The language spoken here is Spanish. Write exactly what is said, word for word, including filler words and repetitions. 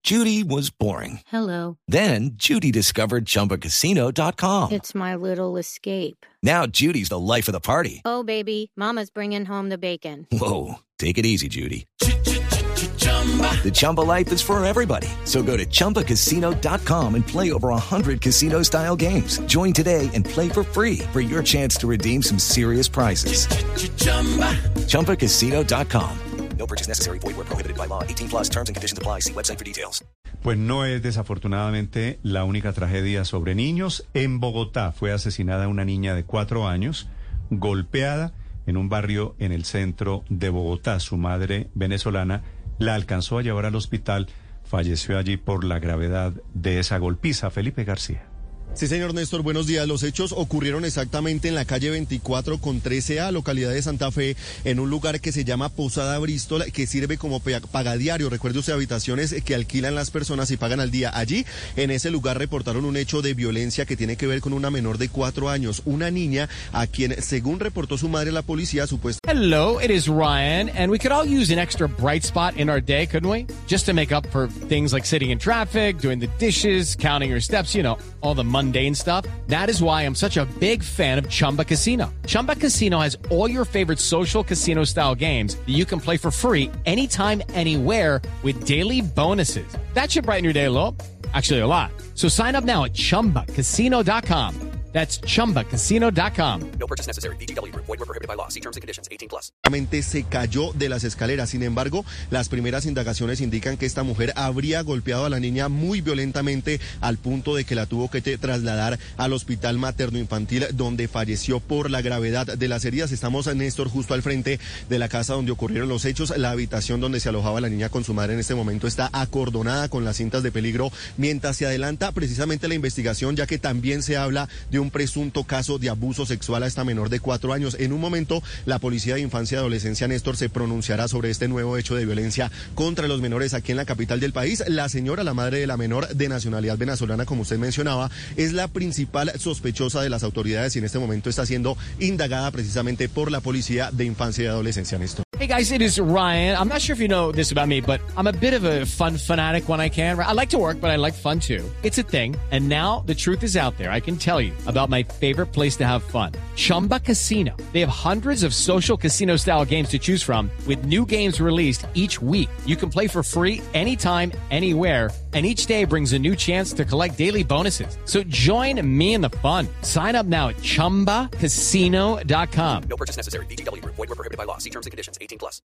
Judy was boring. Hello. Then Judy discovered Chumba Casino dot com. It's my little escape. Now Judy's the life of the party. Oh, baby, mama's bringing home the bacon. Whoa, take it easy, Judy. The Chumba life is for everybody. So go to Chumba Casino dot com and play over one hundred casino-style games. Join today and play for free for your chance to redeem some serious prizes. Chumba Casino dot com. No purchase necessary. Void where prohibited by law. eighteen plus terms and conditions apply. See website for details. Pues no es desafortunadamente la única tragedia sobre niños. En Bogotá fue asesinada una niña de cuatro años, golpeada en un barrio en el centro de Bogotá. Su madre venezolana la alcanzó a llevar al hospital. Falleció allí por la gravedad de esa golpiza. Felipe García. Sí, señor Néstor, buenos días. Los hechos ocurrieron exactamente en la calle veinticuatro con trece A, localidad de Santa Fe, en un lugar que se llama Posada Bristol, que sirve como pagadiario. Recuerde usted, habitaciones que alquilan las personas y pagan al día. Allí, en ese lugar, reportaron un hecho de violencia que tiene que ver con una menor de cuatro años, una niña a quien, según reportó su madre, la policía supuestamente... Hello, it is Ryan, and we could all use an extra bright spot in our day, couldn't we? Just to make up for things like sitting in traffic, doing the dishes, counting your steps, you know, all the mundane stuff. That is why I'm such a big fan of Chumba Casino. Chumba Casino has all your favorite social casino style games that you can play for free anytime, anywhere with daily bonuses. That should brighten your day a little. Actually, a lot. So sign up now at Chumba Casino dot com. That's Chumba Casino dot com. No purchase necessary. V G W Group. Void where prohibited by law. See terms and conditions. eighteen plus. Se cayó de las escaleras. Sin embargo, las primeras indagaciones indican que esta mujer habría golpeado a la niña muy violentamente al punto de que la tuvo que trasladar al hospital materno-infantil, donde falleció por la gravedad de las heridas. Estamos, Néstor, justo al frente de la casa donde ocurrieron los hechos. La habitación donde se alojaba la niña con su madre en este momento está acordonada con las cintas de peligro mientras se adelanta precisamente la investigación, ya que también se habla de un presunto caso de abuso sexual a esta menor de cuatro años. En un momento, la Policía de Infancia y Adolescencia, Néstor, se pronunciará sobre este nuevo hecho de violencia contra los menores aquí en la capital del país. La señora, la madre de la menor de nacionalidad venezolana, como usted mencionaba, es la principal sospechosa de las autoridades y en este momento está siendo indagada precisamente por la Policía de Infancia y Adolescencia, Néstor. Hey guys, it is Ryan. I'm not sure if you know this about me, but I'm a bit of a fun fanatic when I can. I like to work, but I like fun too. It's a thing. And now the truth is out there. I can tell you about my favorite place to have fun. Chumba Casino. They have hundreds of social casino style games to choose from with new games released each week. You can play for free anytime, anywhere. And each day brings a new chance to collect daily bonuses. So join me in the fun. Sign up now at Chumba Casino dot com. No purchase necessary. V G W Group. Void where prohibited by law. See terms and conditions. eighteen plus.